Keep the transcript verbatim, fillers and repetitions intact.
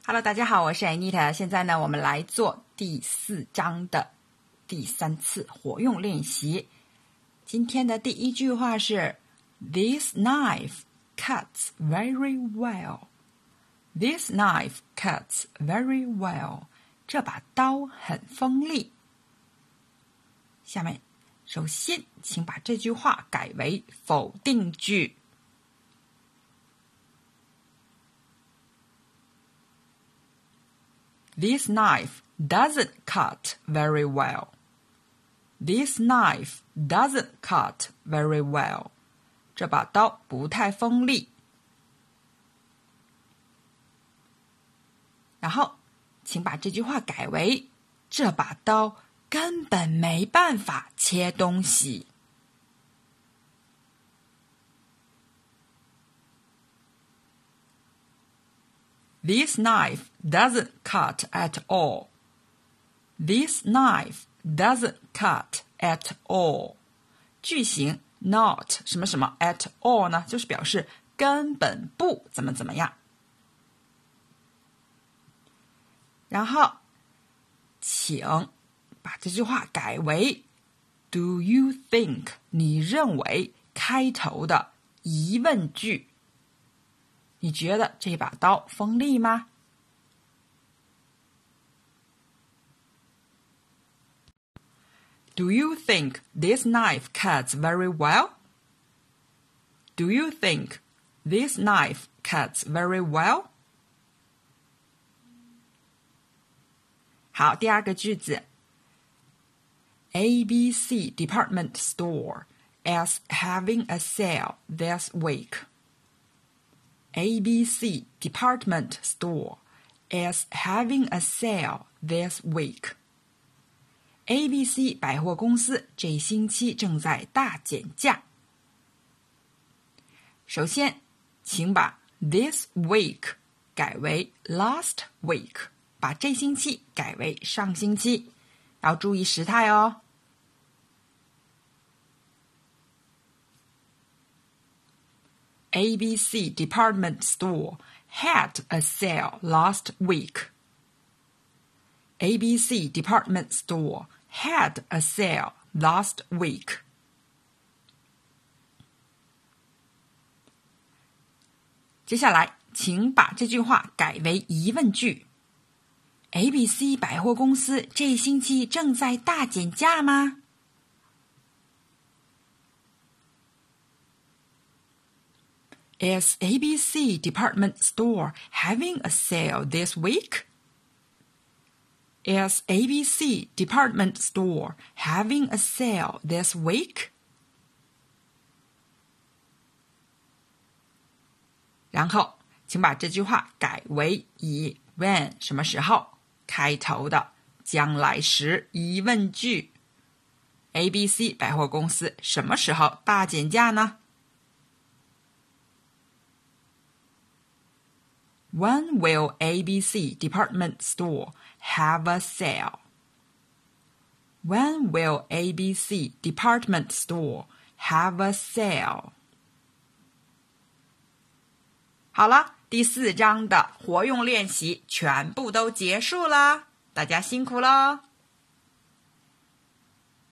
Hello， 大家好，我是 Anita。现在呢，我们来做第四章的第三次活用练习。今天的第一句话是 This knife cuts very well. This knife cuts very well. 这把刀很锋利。下面，首先，请把这句话改为否定句。This knife doesn't cut very well. This knife doesn't cut very well. 这把刀不太锋利。然后，请把这句话改为：这把刀根本没办法切东西。This knife doesn't cut at all. This knife doesn't cut at all. 句型 not 什么什么 at all 呢，就是表示根本不怎么怎么样。然后，请把这句话改为 Do you think 你认为开头的疑问句。你觉得这把刀锋利吗？ Do you think this knife cuts very well? Do you think this knife cuts very well? 好，第二个句子 A B C department store is having a sale this week.A B C department store is having a sale this week. A B C 百货公司这星期正在大减价。首先，请把 this week 改为 last week， 把这星期改为上星期，要注意时态哦。A B C department store had a sale last week. A B C department store had a sale last week. 接下来，请把这句话改为疑问句。A B C 百货公司这星期正在大减价吗？Is A B C department store having a sale this week? Is A B C department store having a sale this week? 然后，请把这句话改为以 when 什么时候开头的将来时疑问句。A B C 百货公司什么时候大减价呢？When will A B C department store have a sale? When will A B C department store have a sale? 好了，第四章的活用练习全部都结束了，大家辛苦了。